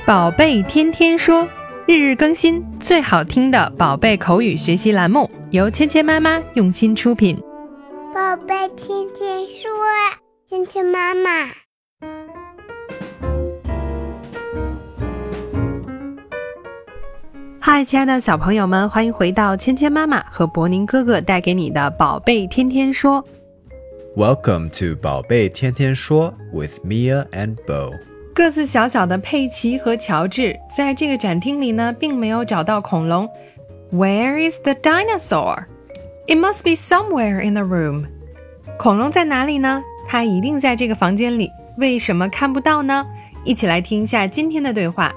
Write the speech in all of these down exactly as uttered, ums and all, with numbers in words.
宝贝天天说，日日更新，最好听的宝贝口语学习栏目，由芊芊妈妈用心出品。 宝贝天天说，芊芊妈妈。 嗨，亲爱的小朋友们，欢迎回到芊芊妈妈和博宁哥哥带给你的宝贝天天说。 Welcome to 宝贝天天说 with Mia and Bo。 个子小小的佩奇和乔治在这个展厅里呢，并没有找到恐龙。Where is the dinosaur? It must be somewhere in the room. 恐龙在哪里呢？它一定在这个房间里。为什么看不到呢？一起来听一下今天的对话。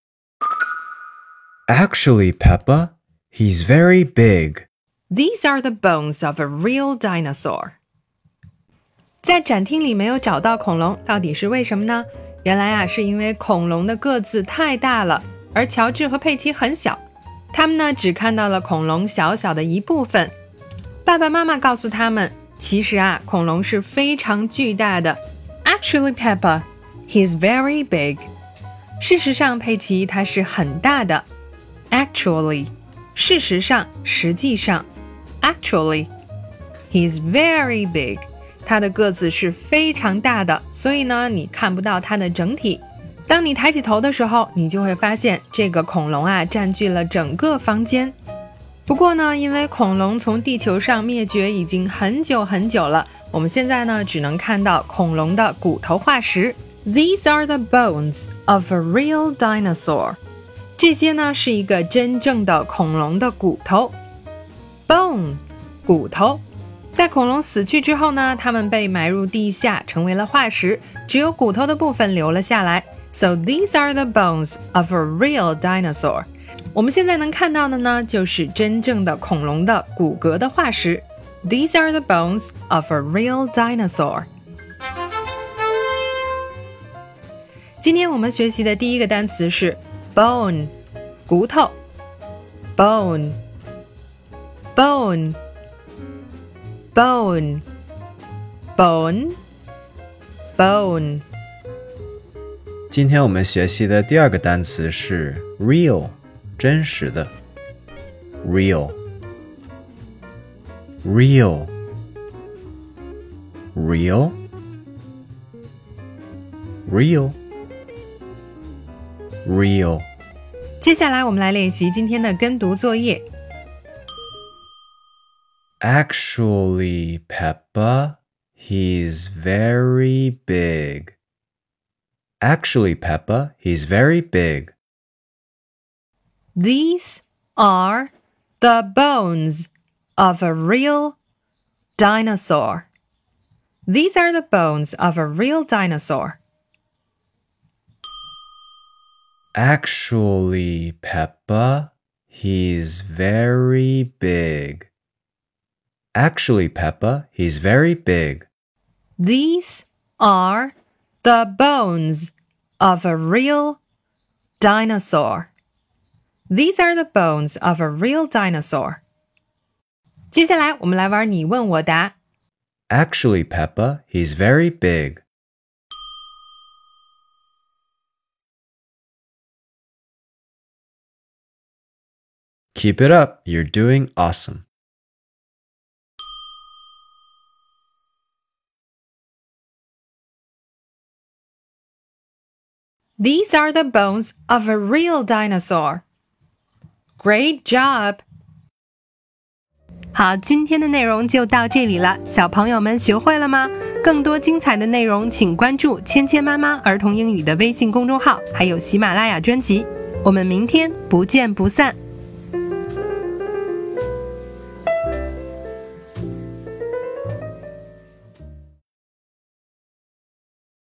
Actually, Peppa, he's very big. These are the bones of a real dinosaur. 在展厅里没有找到恐龙，到底是为什么呢？原来啊，是因为恐龙的个子太大了，而乔治和佩奇很小，他们呢只看到了恐龙小小的一部分。爸爸妈妈告诉他们，其实啊，恐龙是非常巨大的。Actually, Peppa, he's very big. 事实上，佩奇他是很大的。Actually, 事实上，实际上。Actually, he's very big.它的个子是非常大的，所以呢，你看不到它的整体。当你抬起头的时候，你就会发现这个恐龙啊占据了整个房间。不过呢，因为恐龙从地球上灭绝已经很久很久了，我们现在呢只能看到恐龙的骨头化石。These are the bones of a real dinosaur. 这些呢是一个真正的恐龙的骨头。Bone, 骨头。在恐龙死去之后呢，它们被埋入地下，成为了化石，只有骨头的部分留了下来。So these are the bones of a real dinosaur. 我们现在能看到的呢，就是真正的恐龙的骨骼的化石。These are the bones of a real dinosaur. 今天我们学习的第一个单词是 bone, 骨头。Bone, bone.Bone, bone, bone. 今天我们学习的第二个单词是 real, 真实的。Real, real, real, real, real. 接下来我们来练习今天的跟读作业。 Actually, Peppa, he's very big. Actually, Peppa, he's very big. These are the bones of a real dinosaur. These are the bones of a real dinosaur. Actually, Peppa, he's very big.Actually, Peppa, he's very big. These are the bones of a real dinosaur. These are the bones of a real dinosaur. 接下来我们来玩你问我答。 Actually, Peppa, he's very big. Keep it up, you're doing awesome.These are the bones of a real dinosaur. Great job! 好，今天的内容就到这里了，小朋友们学会了吗？更多精彩的内容请关注芊芊妈妈儿童英语的微信公众号，还有喜马拉雅专辑。我们明天不见不散。